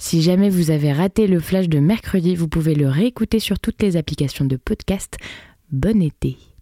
Si jamais vous avez raté le flash de mercredi, vous pouvez le réécouter sur toutes les applications de podcast. Bon été!